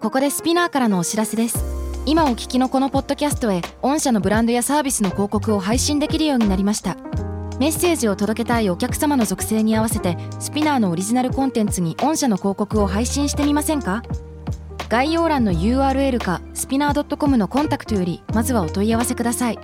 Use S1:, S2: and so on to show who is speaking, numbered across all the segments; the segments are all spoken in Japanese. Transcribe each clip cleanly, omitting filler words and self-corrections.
S1: ここでスピナーからのお知らせです。今お聞きのこのポッドキャストへ御社のブランドやサービスの広告を配信できるようになりました。メッセージを届けたいお客様の属性に合わせてスピナーのオリジナルコンテンツに御社の広告を配信してみませんか？概要欄の URL かスピナー .com のコンタクトよりまずはお問い合わせください。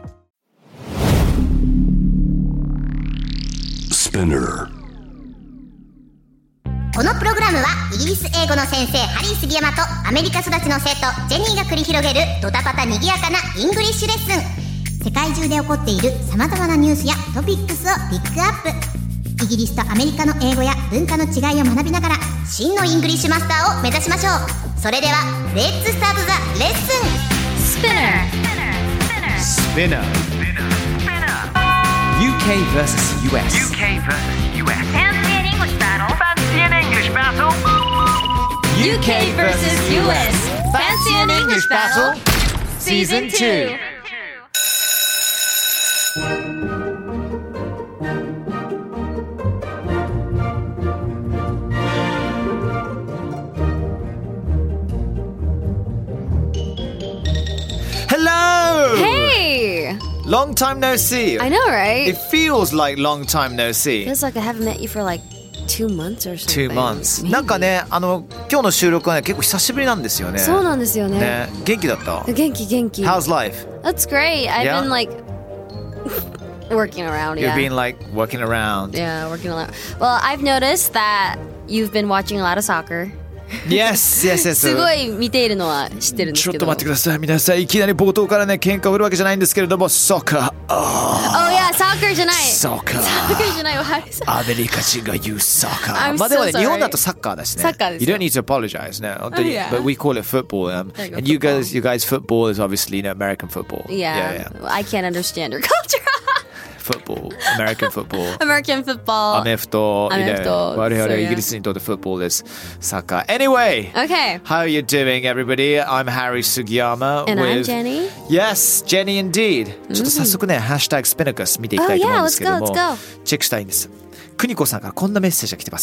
S2: このプログラムはイギリス英語の先生ハリー杉山とアメリカ育ちの生徒ジェニーが繰り広げるドタパタにぎやかなイングリッシュレッスン。世界中で起こっている様々なニュースやトピックスをピックアップ。イギリスとアメリカの英語や文化の違いを学びながら真のイングリッシュマスターを目指しましょう。それではレッツスタートザレッスン。
S3: Spinner UK vs US
S4: Fancy an English battle.
S3: UK vs US
S4: Fancy an English battle.
S3: Season 2. Hello!
S5: Hey!
S3: Long time no see.
S5: I know, right?
S3: It feels like long time no see.
S5: Feels like I haven't met you for like 2 months or something.
S3: 2 months.
S5: Maybe.
S3: なんかね、今日の収録はね、結構久しぶりなんですよね。
S5: そうなんですよね。
S3: ね、元気だった？
S5: 元気。
S3: How's life?
S5: That's great. I've
S3: Yeah?
S5: been like working around.
S3: You've
S5: Yeah.
S3: been like working around.
S5: Yeah, working around. Well, I've noticed that you've been watching a lot of soccer.
S3: Yes.
S5: すごい見ているのは知ってるんですけど。
S3: ちょっと待ってください皆さん。いきなり冒頭からね喧嘩を売るわけじゃないんですけれども、ソッカー。
S5: Oh yeah, soccer じゃない。
S3: ソッカー。
S5: soccer じゃないわ。
S3: アメリカ人が言うサッカー。
S5: I'm
S3: まあでもね
S5: so sorry.
S3: 日本だとサッカーだしね。
S5: サッカーですよ。
S3: You don't need to apologize ね。本当に。
S5: Oh, yeah.
S3: But we call it football. And you guys football is obviously American football.
S5: Yeah. I can't understand your culture.
S3: Football, American football.
S5: American football.
S3: アメフト。
S5: アメフト。
S3: 我々
S5: So, yeah.
S3: イギリスにとって football です。サッカー。Anyway.
S5: Okay.
S3: How are you doing, everybody? I'm Harry Sugiyama.
S5: And I'm
S3: with...
S5: Jenny.
S3: Yes, Jenny indeed. ちょっと早速ね、ハッシュタグスピナカス見ていきたいと思うんですけども、
S5: Oh, yeah, let's go.
S3: チェックしたいんです。邦子さんからこんなメッセージが来てます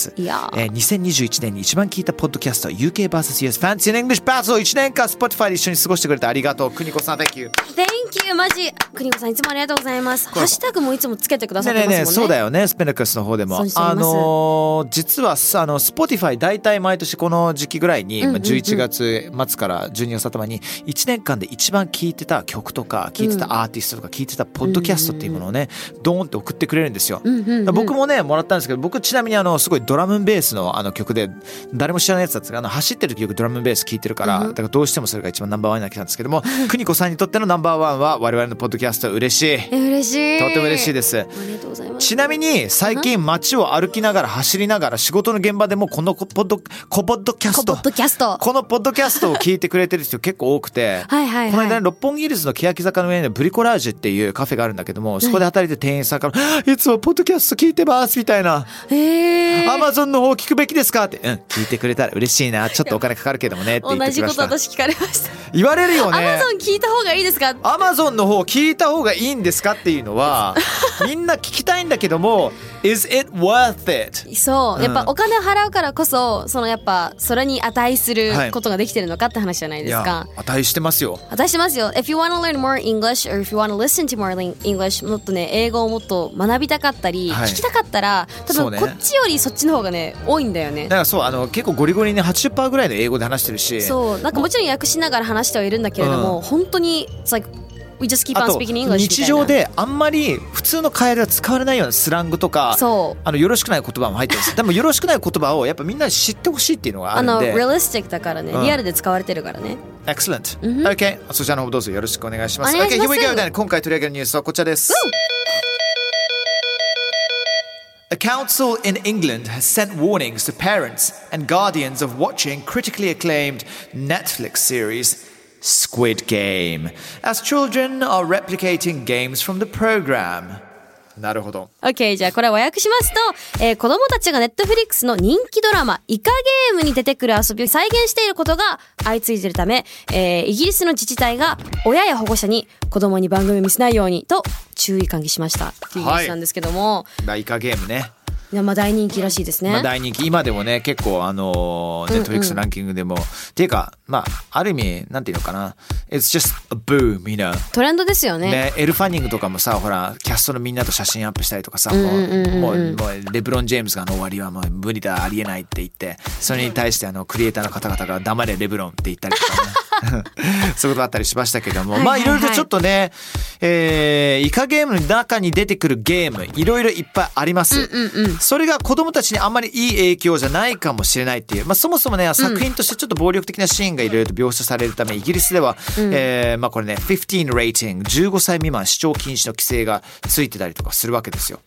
S3: 。2021年に一番聞いたポッドキャスト UK vs US Fancy an English Battle 1年間 Spotify で一緒に過ごしてくれてありがとう。邦子さん Thank you。
S5: Thank you マジ邦子さんいつもありがとうございます。ハッシュタグもいつもつけてくださってますもんね。
S3: そうだよね。スピナカスの方でも実はSpotify 大体毎年この時期ぐらいに、11月末から12月頭に1年間で一番聴いてた曲とか聴いてたアーティストとか聴いてたポッドキャストっていうものをね、ドーンって送ってくれるんですよ。僕もねもらったんですけど、僕ちなみにすごいドラムベースの曲で誰も知らないやつだったから走ってる時よくドラムベース聴いてるから、だからどうしてもそれが一番ナンバーワンになってきたんですけども、邦子さんにとってのナンバーワンは我々のポッドキャスト。嬉しい。
S5: 嬉しい。
S3: とても嬉しいです。
S5: ありがとうございます。
S3: ちなみに最近街を歩きながら走りながら仕事の現場でもこのポッドキャストこのポッドキャストを聞いてくれてる人結構多くてこの間、六本木ヒルズの欅坂の上にブリコラージュっていうカフェがあるんだけども、そこで働いてる店員さんからいつもポッドキャスト聞いてますみたいな、アマゾンの方聞くべきですかって、聞いてくれたら嬉しいな、ちょっとお金かかるけどもねって言ってきました。
S5: 同じこと私聞かれました。
S3: 言われるよね。
S5: アマゾン聞いた方がいいですか、
S3: アマゾンの方聞いた方がいいんですかっていうのはみんな聞きたいんだけどもIs it worth it?
S5: そう、やっぱお金を払うからこそやっぱそれに値することができてるのかって話じゃないですか。
S3: いや値してますよ。
S5: 値してますよ。 If you want to learn more English or if you want to listen to more English もっとね英語をもっと学びたかったり、聞きたかったら多分こっちよりそっちの方がね多いんだよね。
S3: だからそう結構ゴリゴリに 80% ぐらいの英語で話してるし、
S5: そうなんかもちろん訳しながら話してはいるんだけれども、本当に It's like We just keep on speaking English みたいな。
S3: 日常であんまり普通の会話では使われないようなスラングとか、よろしくない言葉も入ってるんです。でもよろしくない言葉をやっぱみんなに知ってほしいっていうのがあるんで、
S5: realistic だからね、リアルで使われてるからね。
S3: Excellent、OK、 そちらの方どうぞよろしくお願いします。 OK、 here we go then。 今回取り上げるニュースはこちらです。A council in England has sent warnings to parents and guardians of watching critically acclaimed Netflix series Squid Game, as children are replicating games from the program. なるほど。
S5: OK、 じゃあこれ和訳しますと、子供たちが Netflix の人気ドラマイカゲームに出てくる遊びを再現していることが相次いでいるため、イギリスの自治体が親や保護者に子供に番組を見せないようにと注意喚起しましたっていうニュースなんですけども、
S3: イカゲームね。
S5: いやまあ大人気らしいですね。
S3: まあ、大人気今でもね結構Netflix のランキングでも、っていうかまあある意味なんていうのかな It's just a boom, you know
S5: トレンドですよね。
S3: ねエル・ファニングとかもさほらキャストのみんなと写真アップしたりとかさ、もうレブロン・ジェームズが終わりはもう無理だありえないって言ってそれに対してクリエイターの方々が黙れレブロンって言ったりとかねそういうことあったりしましたけども、まあいろいろとちょっとね、イカゲームの中に出てくるゲームいろいろいっぱいあります、それが子供たちにあんまりいい影響じゃないかもしれないっていう、まあ、そもそもね作品としてちょっと暴力的なシーンがいろいろと描写されるためイギリスでは、まあこれね15 rating 15歳未満視聴禁止の規制がついてたりとかするわけですよ。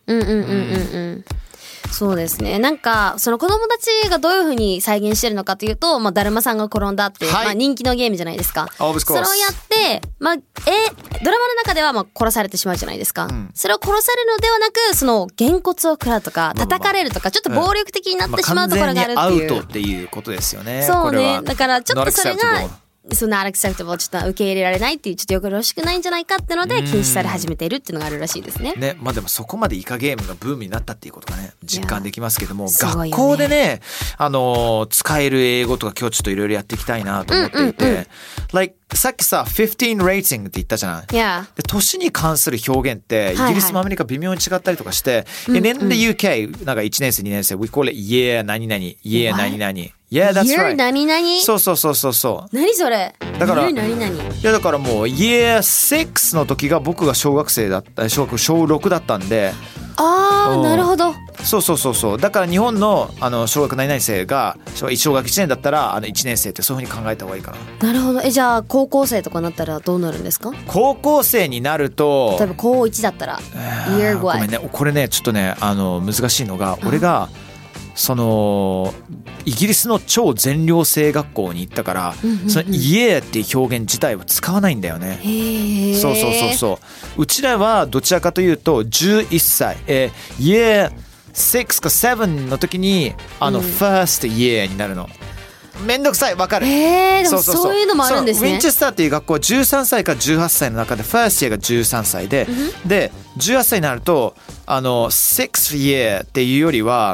S5: そうですね。なんかその子供たちがどういう風に再現してるのかというと、まあだるまさんが転んだっていう、まあ人気のゲームじゃないですか。それをやってまあドラマの中ではまあ殺されてしまうじゃないですか。それを殺されるのではなくそのげんこつを食らうとか叩かれるとかちょっと暴力的になってしまうところがあるっていう。
S3: 完全にアウトっていうことですよね。
S5: そうね。だからちょっとそれがそんな unacceptable ちょっと受け入れられないっていうちょっとよろしくないんじゃないかってので禁止され始めているっていうのがあるらしいですね。
S3: ね、まあでもそこまでイカゲームがブームになったっていうことがね実感できますけども、学校でね使える英語とか今日ちょっといろいろやっていきたいなと思っていて、like さっきさ15 rating って言ったじゃない。で年に関する表現ってイギリスもアメリカ微妙に違ったりとかして、and in the UK なんか1年生2年生 we call it year 何々 year 何々Yeah, that's right.
S5: 何々？
S3: そう。
S5: 何それ？
S3: だから、
S5: 何々？
S3: いやだからもう Year 6の時が僕が小学生だった小6だったんで。
S5: なるほど。
S3: そう。だから日本の小学何々生が小学1年だったら1年生ってそういう風に考えた方がいいかな。
S5: なるほど。じゃあ高校生とかになったらどうなるんですか？
S3: 高校生になると
S5: 例えば高1だったら Year
S3: ごめんねこれねちょっとね難しいのが俺がそのイギリスの超全寮制学校に行ったから、その家っていう表現自体は使わないんだよね。そううちらはどちらかというと11歳Year 6か7の時にfirst year になるの。めんどくさいわかる。
S5: でもそういうのもあるんですね。
S3: ウィンチェスターっていう学校は13歳から18歳の中でファーストイヤーが13歳で、で18歳になると6 year っていうよりは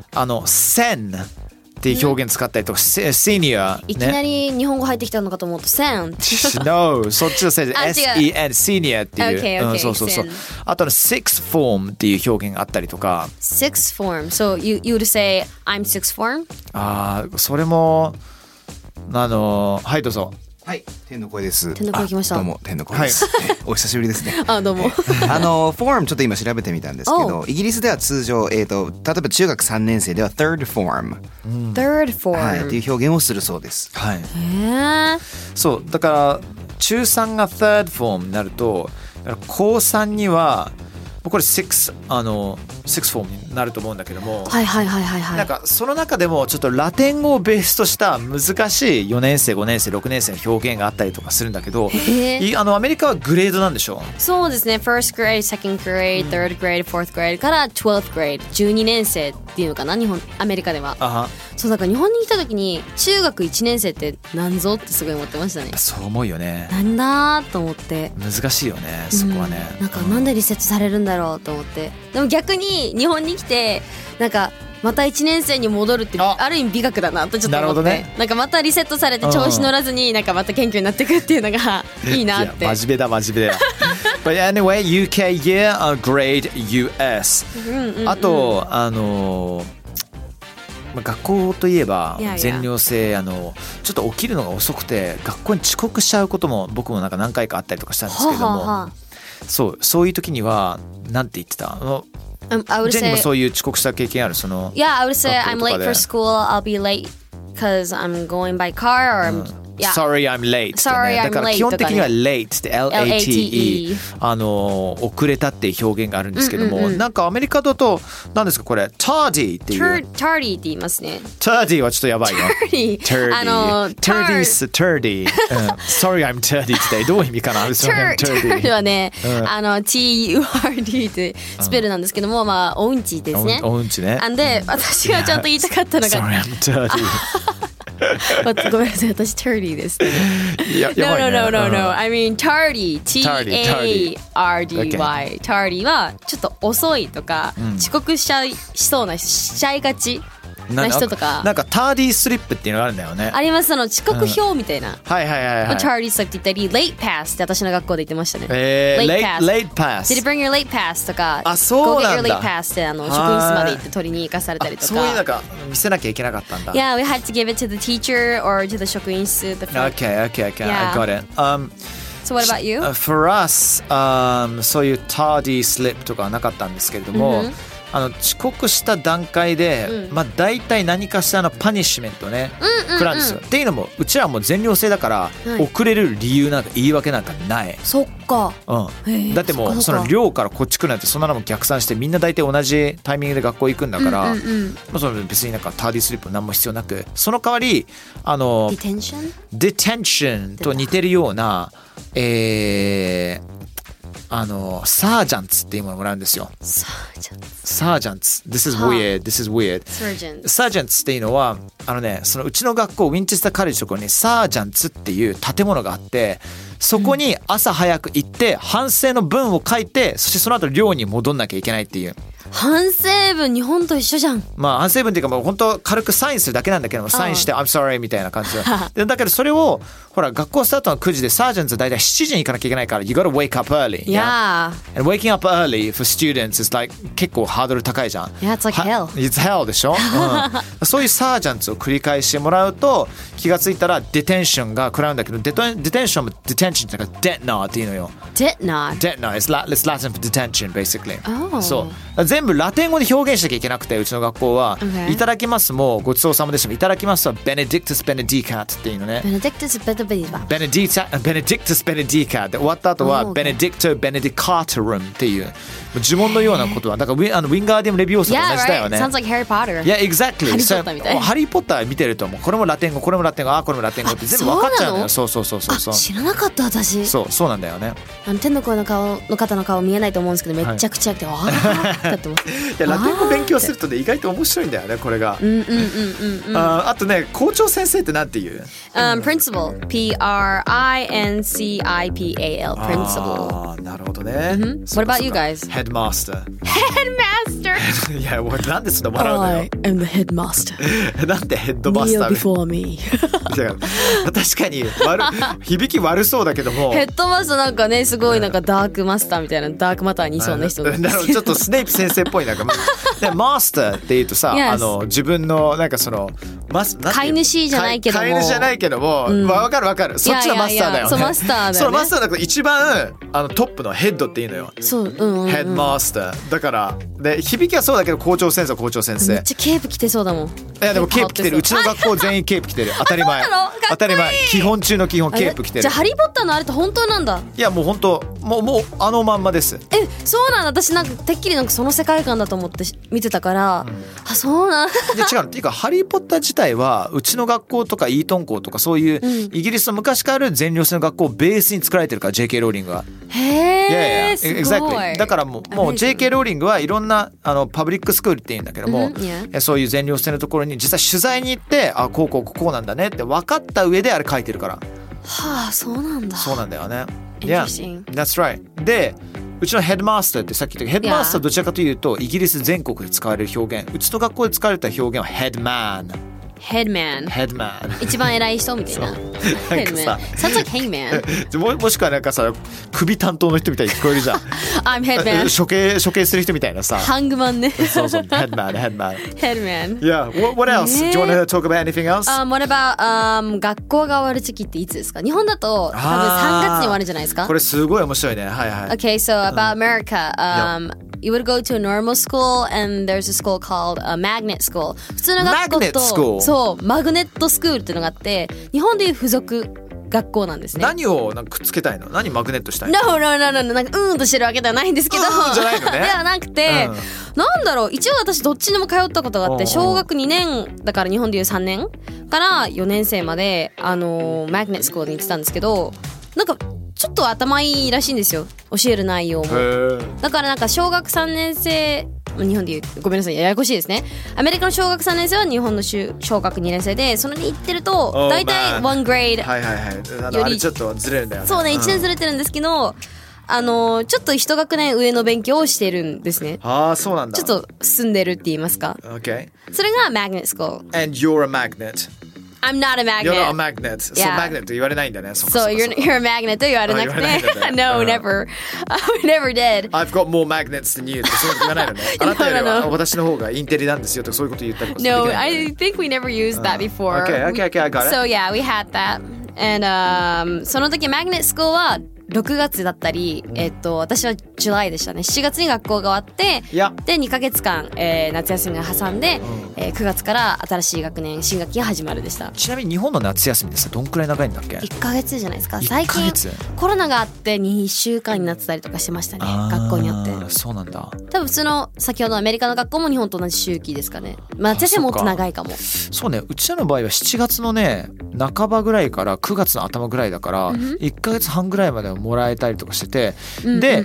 S3: 10っていう表現使ったりとか、シニア、ね、
S5: いきなり日本語入ってきたのかと思うと
S3: No そっちのせいで SEN シニアっていう、そうあとsixth form っていう表現があったりとか
S5: Sixth form So you would say I'm sixth form?
S3: それもはいどうぞ。
S6: はい、天の声です。
S5: 天の声来ました。
S6: どうも天の声です。お久しぶりですね。
S5: どうも。
S6: フォームちょっと今調べてみたんですけど、イギリスでは通常例えば中学3年生では third form、third form、はい、っていう表現をするそうです。はい。
S3: そうだから中3が third form になると高3にはこれ6フォームになると思うんだけども、なんかその中でもちょっとラテン語をベースとした難しい4年生5年生6年生の表現があったりとかするんだけど、アメリカはグレードなんでしょ？
S5: そうですね。 First grade, second grade, third grade, fourth grade から 12th grade 12年生っていうのかなアメリカでは。そうだから日本に来た時に中学1年生ってなんぞってすごい思ってましたね。
S3: そう思うよね。
S5: なんだと思って
S3: 難しいよねそこはね、
S5: なんでリセットされるんだろうと思って。でも逆に日本に来てなんかまた1年生に戻るってある意味美学だなとちょっと思って、なんかまたリセットされて調子乗らずになんかまた謙虚になっていくっていうのがいいなって。
S3: 真面目だBut anyway UK year grade US、あと学校といえば全寮制ちょっと起きるのが遅くて学校に遅刻しちゃうことも僕もなんか何回かあったりとかしたんですけども、そういう時にはなんて言ってた？ジェニーもそういう遅刻した経験ある？
S5: Yeah, I would say I'm late for school. I'll be late because I'm going by car or、Sorry,
S3: I'm late、だから基本的には late って LATE 遅れたっていう表現があるんですけども、なんかアメリカだと何ですかこれ tardy っていう
S5: tardy って言いますね。
S3: tardy はちょっとやばいよ。
S5: tardy
S3: tardy Sorry, I'm tardy today どういう意味かな。
S5: tardy はね、TURD ってスペルなんですけども、おうんちですね。
S3: おうんちね。
S5: で私がちゃんと言いたかったのが
S3: Sorry, I'm tardy
S5: ごめんなさい、私 tardy です。
S3: いや、やばいね。
S5: No. I mean tardy. T-A-R-D-Y. tardy はちょっと遅いとか、遅刻しちゃいがちな人とか。
S3: なんかターディースリップっていうのがあるんだよね。
S5: あります、遅刻表みたいな。
S3: はい。
S5: tardy さっき言ったり late pass って私の学校で言ってましたね。
S3: late pass.
S5: Did you bring your late pass とか。
S3: あ、そうなんだ。
S5: Go get your late pass って職員室まで行って取りに行かされたりとか。
S3: そういうなんか見せなきゃいけなかったんだ。
S5: Yeah, we had to give it to the teacher or to the 職員室。
S3: Okay. I got it.
S5: So what about you?
S3: For us, そういうターディースリップとかはなかったんですけれども、遅刻した段階で、大体何かしらのパニッシュメントね、食らうんですよ。っていうのもうちらはもう全寮制だから、遅れる理由なんか言い訳なんかない。
S5: そっか。
S3: だってもうその寮からこっち来るなんてそんなのも逆算してみんな大体同じタイミングで学校行くんだから、その別になんかターディースリップ何も必要なく、その代わりdetention と似てるようなサージャンツっていうものをもらうんですよ。サージャンツ。This is weird.サージャンツっていうのはそのうちの学校ウィンチェスターカレッジのところにサージャンツっていう建物があって、そこに朝早く行って反省の文を書いて、そしてその後寮に戻んなきゃいけないっていう。
S5: 反省文日本と一緒じゃん。
S3: 反省文っていうかもう本当軽くサインするだけなんだけども、サインして I'm sorry みたいな感じでだけどそれをほら学校スタートの9時でサージャンツ大体7時に行かなきゃいけないから You gotta wake up early.
S5: Yeah.
S3: And waking up early for students is like 結構ハードル高いじゃん。
S5: Yeah, it's like hell.
S3: It's hell でしょ、そういうサージャンツを繰り返してもらうと気がついたらデテンションが食らうんだけど、デテンションもデテンションっていうかデッナーっていうのよ。
S5: デッナー
S3: It's Latin for detention basically.
S5: そう
S3: 全部ラテン語で表現しなきゃいけなくて、うちの学校は、いただきますもごちそうさまでした。いただきますは Benedictus Benedicat っていうのね。
S5: Benedictus Benedicat
S3: で終わった後は Benedicto Benedicatorum っていう呪文のようなことはだからウィンガーディウムレビオーサと同じだよね。
S5: Yeah, right. Sounds like Harry Potter.
S3: Yeah, exactly.
S5: ハリーポッターみたい。
S3: ハリーポッター見てるともうこれもラテン語、これもラテン語、これもラテン語って全部分かっちゃうのよ。そう。
S5: 知らなかった私。
S3: そうなんだよね。
S5: 天の声の方の顔見えないと思うんですけど、めっちゃくちゃくて、わーってなってます。
S3: いやラテン語勉強するとね意外と面白いんだよねこれが。あとね校長先生ってなんて言う
S5: ？Principal. P-R-I-N-C-I-P-A-L. Principal.
S3: なるほどね。
S5: What about you guys?
S3: Headmaster.
S5: Headmaster.
S3: いやなんでそんな笑うのよ。
S5: I am the headmaster.
S3: なんでヘッドマスター
S5: Kneel before me.
S3: 確かに響き悪そうだけども。
S5: ヘッドマスターなんかねすごいなんかダークマスターみたいなダークマターにいそうな人なんですけど。
S3: ちょっとスネイプ先生っぽいなんかでマスターって言うとさ、
S5: Yes.
S3: 自分のなんかその
S5: 飼い主じゃないけども、
S3: 飼い主じゃないけども、わかるそっちのマスターだよね。
S5: そうマスターだよね。
S3: そのマスターだから一番トップのヘッドっていうのよ。
S5: そう、ヘ
S3: ッドマスターだからで響きはそうだけど校長先生
S5: めっちゃケープ着てそうだもん。
S3: いやでもケープ着てる。うちの学校全員ケープ着てる。当たり前基本中の基本ケープ着てる。
S5: じゃあハリーポッターのあれって本当なんだ。
S3: いやもう本当もうまんまです。
S5: そうなんだ。私なんかてっきりなんかその世界観だと思って見てたから、そうなん
S3: で違うっていうかハリーポッター自体はうちの学校とかイートン校とかそういうイギリスの昔からある全寮制の学校をベースに作られてるから JK ローリングが。
S5: へー、すごい。
S3: Exactly. だからもう JK ローリングはいろんなパブリックスクールっていうんだけども、そういう全寮制のところに実際取材に行ってこうなんだねって分かった上であれ書いてるから。
S5: そうなんだ。
S3: そうなんだよね。
S5: Interesting.
S3: Yeah, that's right. でうちのヘッドマスターってさっき言ったヘッドマスターどちらかというとイギリス全国で使われる表現、うちの学校で使われた表現はヘッドマン。一番偉い人みたいな。 なんかさ
S5: Sounds like hangman.
S3: もしくはなんかさ首担当の人みたいに聞こえるじゃん。
S5: I'm headman.
S3: 処刑する人みたいなさ。
S5: ハングマンね。
S3: そう headman. Yeah. What else? Do you want to talk about anything else?
S5: What about 学校が終わる時期っていつですか？日本だと多分3月に終わるじゃないですか。
S3: これすごい面白いね。はいはい。
S5: Okay, so about America. You would go to a normal school and there's a school called a magnet school. 普通の学校とそうマグネットスクールっていうのがあって、日本でいう付属学校なんですね。
S3: 何をなんかくっつけたいの？何マグネットしたいの？
S5: No なんかとしてるわけではないんですけど、
S3: じゃないのね。
S5: ではなくて、なんだろう、一応私どっちにも通ったことがあって、小学2年だから日本でいう3年から4年生までマグネットスクールに行ってたんですけど、なんかちょっと頭いいらしいんですよ、教える内容も。だからなんか小学3年生日本でいうごめんなさいややこしいですね。アメリカの小学3年生は日本の小学2年生で、それに行ってると大体1 grade
S3: はいはいはい。あれちょっとずれるんだよね。
S5: そうね、1年ずれてるんですけど、ちょっと一学年上の勉強をしてるんですね。
S3: ああ、そうなんだ。
S5: ちょっと進んでるって言いますか。
S3: Okay.
S5: それが Magnet School.
S3: And you're a magnet.
S5: I'm not a magnet.
S3: You're not a magnet. そう、magnet と言われないんだね。
S5: そう、you're a magnet と言われなくて。No, never. I never did.
S3: I've got more magnets than you ってそういうこと言わないのね。あなたよりは私の方がインテリなんですよとかそういうこと言ったりとか。
S5: No, I think we never used that before.
S3: Okay, I got it.
S5: So yeah, we had that. And その時 Magnet School は6月だったり、私はジュライでしたね。7月に学校が終わって、で2ヶ月間、夏休みが挟んで、9月から新しい学年新学期が始まるでした。
S3: ちなみに日本の夏休みでさ、どんくらい長いんだっけ
S5: ？1ヶ月じゃないですか。最近コロナがあって2週間になってたりとかしてましたね、学校によって。
S3: そうなんだ。
S5: 多分普通の先ほどのアメリカの学校も日本と同じ周期ですかね。まあ夏休みもっと長いかも。
S3: そうね、うちらの場合は7月のね半ばぐらいから9月の頭ぐらいだから、1ヶ月半ぐらいまではもらえたりとかしてて、で、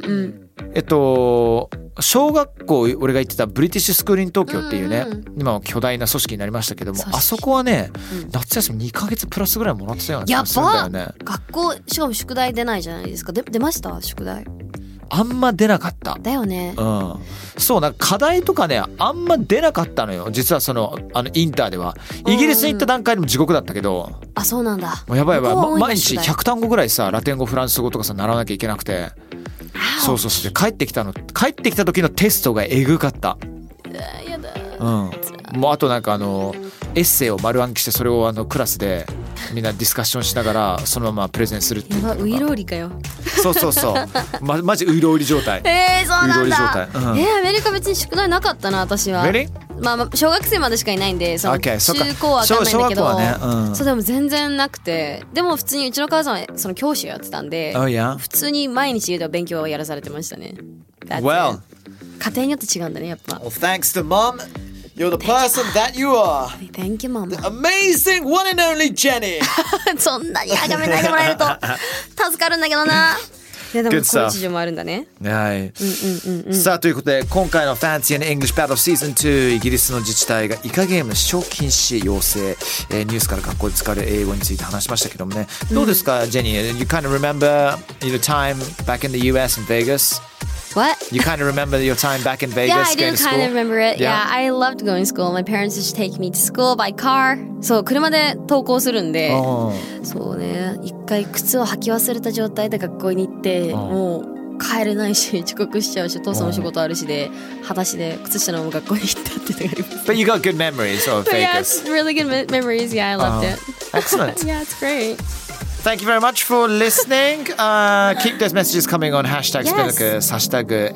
S3: 小学校俺が行ってたブリティッシュスクールイン東京っていうね、今は巨大な組織になりましたけども、あそこはね、夏休み2ヶ月プラスぐらいもらってたような気がするんだよね。やばっ。学校しかも宿題出ないじゃないですか。出ました宿題？あんま出なかった
S5: だよね。
S3: そう、なんか課題とかねあんま出なかったのよ。実はインターではイギリスに行った段階でも地獄だったけど、
S5: あ、そうなんだ。
S3: もうやばい毎日100単語ぐらいさ、ラテン語フランス語とかさ習わなきゃいけなくて、そう帰ってきた時のテストがえぐかった。
S5: やだ。
S3: もうあとなんかエッセイを丸暗記して、それをクラスでみんなディスカッションしながらそのままプレゼンするっていう。
S5: ウイロウリかよ。
S3: そうマジウイロウリ状態。
S5: そうなんだ。
S3: ア
S5: メリカ別に宿題なかったな私は。まあ小学生までしかいないんで、中高は分かんないんだけど、そうでも全然なくて、でも普通にうちの母さんはその教師をやってたんで、普通に毎日家では勉強をやらされてましたね。
S3: Well,
S5: 家庭によって違うんだねやっぱ。
S3: Well, thanks to mom, you're the person that you are.
S5: Thank you, mom.
S3: The amazing one and only Jenny.
S5: そんなに崇めないでもらえると助かるんだけどな。いやでもこういう事情もあるんだね。
S3: はい。さあということで今回の Fancy and English Battle Season 2、イギリスの自治体がイカゲーム視聴禁止要請、ニュースから学校で使われる英語について話しましたけどもね、どうですかジェニー？ You kind of remember your time back in the US in Vegas?What? You kind of remember your time back in Vegas?
S5: Yeah, I do kind of remember it. Yeah, I loved going to school. My parents used to take me to school by car. そう、車で登校するんで、そうね、一回靴を履き忘れた状態で学校に行って、もう帰れないし、遅刻しちゃうし、お父さんも仕事あるしで、裸足で靴下のまま学校に行ったっていうのがあります。
S3: But you got good memories of Vegas.
S5: Yeah, it's really good memories. Yeah, I loved it.
S3: Excellent.
S5: Yeah, it's great.Thank
S3: you very much for listening. Keep those messages coming on hashtag Spinnukus, hashtag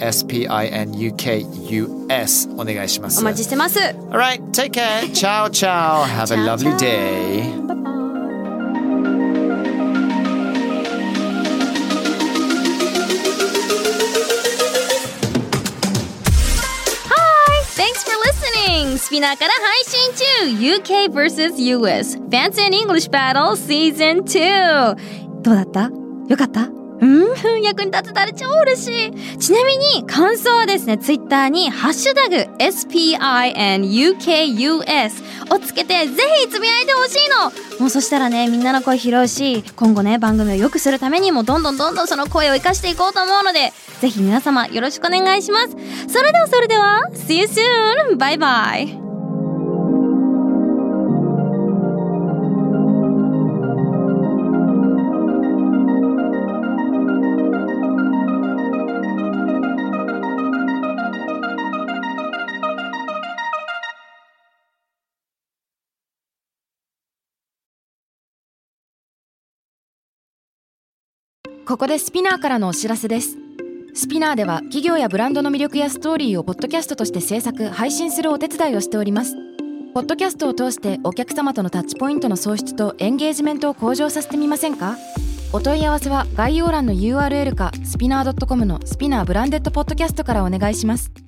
S3: SPINUKUS お願いします。
S5: お待ちしてます。
S3: Alright, take care. Ciao, ciao. Have a lovely day.
S5: Thanks for listening! スピナーから配信中 UK vs US Fancy and English Battle Season 2どうだった？よかった？役に立てたら超嬉しい。ちなみに感想はですね、ツイッターにハッシュタグ SPINUKUS をつけてぜひつぶやいてほしいの。もうそしたらね、みんなの声拾うし、今後ね、番組を良くするためにもどんどんその声を生かしていこうと思うので、ぜひ皆様よろしくお願いします。それでは See you soon! バイバイ。
S1: ここでスピナーからのお知らせです。スピナーでは企業やブランドの魅力やストーリーをポッドキャストとして制作・配信するお手伝いをしております。ポッドキャストを通してお客様とのタッチポイントの創出とエンゲージメントを向上させてみませんか？お問い合わせは概要欄の URL かスピナー .com のスピナーブランデッドポッドキャストからお願いします。